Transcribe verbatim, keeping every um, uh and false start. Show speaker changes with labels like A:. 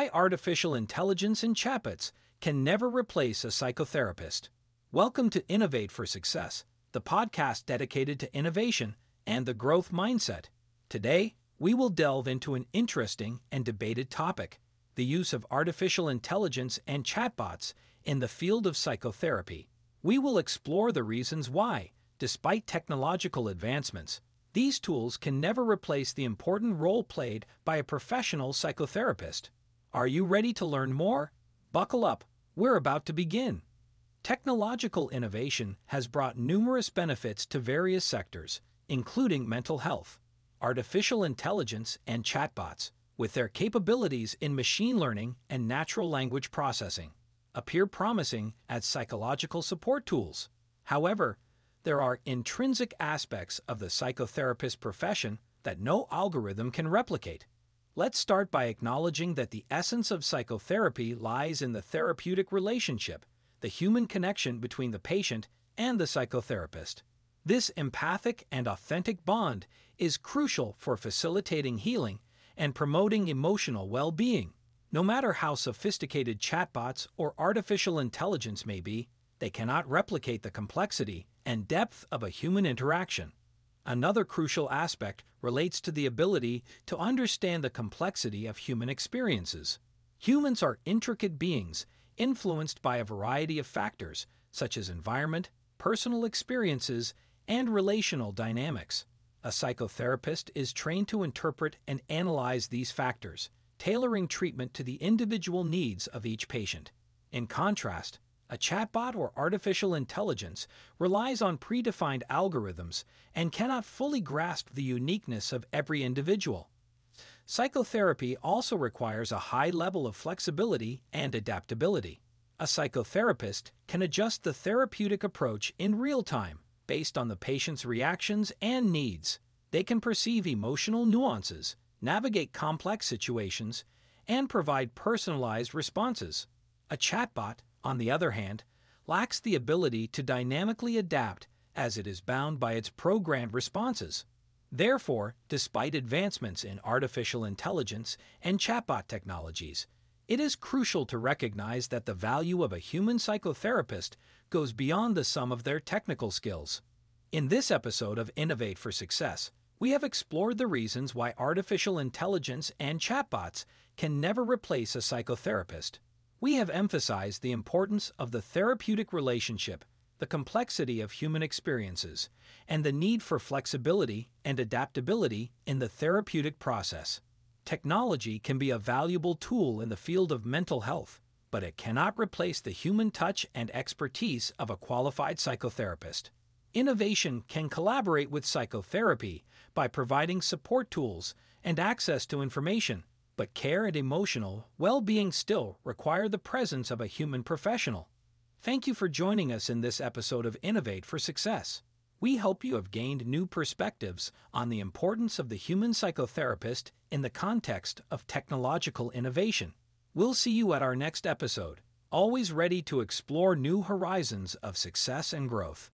A: Why artificial intelligence and chatbots can never replace a psychotherapist. Welcome to Innovate for Success, the podcast dedicated to innovation and the growth mindset. Today, we will delve into an interesting and debated topic: the use of artificial intelligence and chatbots in the field of psychotherapy. We will explore the reasons why, despite technological advancements, these tools can never replace the important role played by a professional psychotherapist. Are you ready to learn more? Buckle up, we're about to begin. Technological innovation has brought numerous benefits to various sectors, including mental health. Artificial intelligence and chatbots, with their capabilities in machine learning and natural language processing, appear promising as psychological support tools. However, there are intrinsic aspects of the psychotherapist profession that no algorithm can replicate. Let's start by acknowledging that the essence of psychotherapy lies in the therapeutic relationship, the human connection between the patient and the psychotherapist. This empathic and authentic bond is crucial for facilitating healing and promoting emotional well-being. No matter how sophisticated chatbots or artificial intelligence may be, they cannot replicate the complexity and depth of a human interaction. Another crucial aspect relates to the ability to understand the complexity of human experiences. Humans are intricate beings, influenced by a variety of factors, such as environment, personal experiences, and relational dynamics. A psychotherapist is trained to interpret and analyze these factors, tailoring treatment to the individual needs of each patient. In contrast, a chatbot or artificial intelligence relies on predefined algorithms and cannot fully grasp the uniqueness of every individual. Psychotherapy also requires a high level of flexibility and adaptability. A psychotherapist can adjust the therapeutic approach in real time based on the patient's reactions and needs. They can perceive emotional nuances, navigate complex situations, and provide personalized responses. A chatbot, on the other hand, lacks the ability to dynamically adapt as it is bound by its programmed responses. Therefore, despite advancements in artificial intelligence and chatbot technologies, it is crucial to recognize that the value of a human psychotherapist goes beyond the sum of their technical skills. In this episode of Innovate for Success, we have explored the reasons why artificial intelligence and chatbots can never replace a psychotherapist. We have emphasized the importance of the therapeutic relationship, the complexity of human experiences, and the need for flexibility and adaptability in the therapeutic process. Technology can be a valuable tool in the field of mental health, but it cannot replace the human touch and expertise of a qualified psychotherapist. Innovation can collaborate with psychotherapy by providing support tools and access to information, but care and emotional well-being still require the presence of a human professional. Thank you for joining us in this episode of Innovate for Success. We hope you have gained new perspectives on the importance of the human psychotherapist in the context of technological innovation. We'll see you at our next episode, always ready to explore new horizons of success and growth.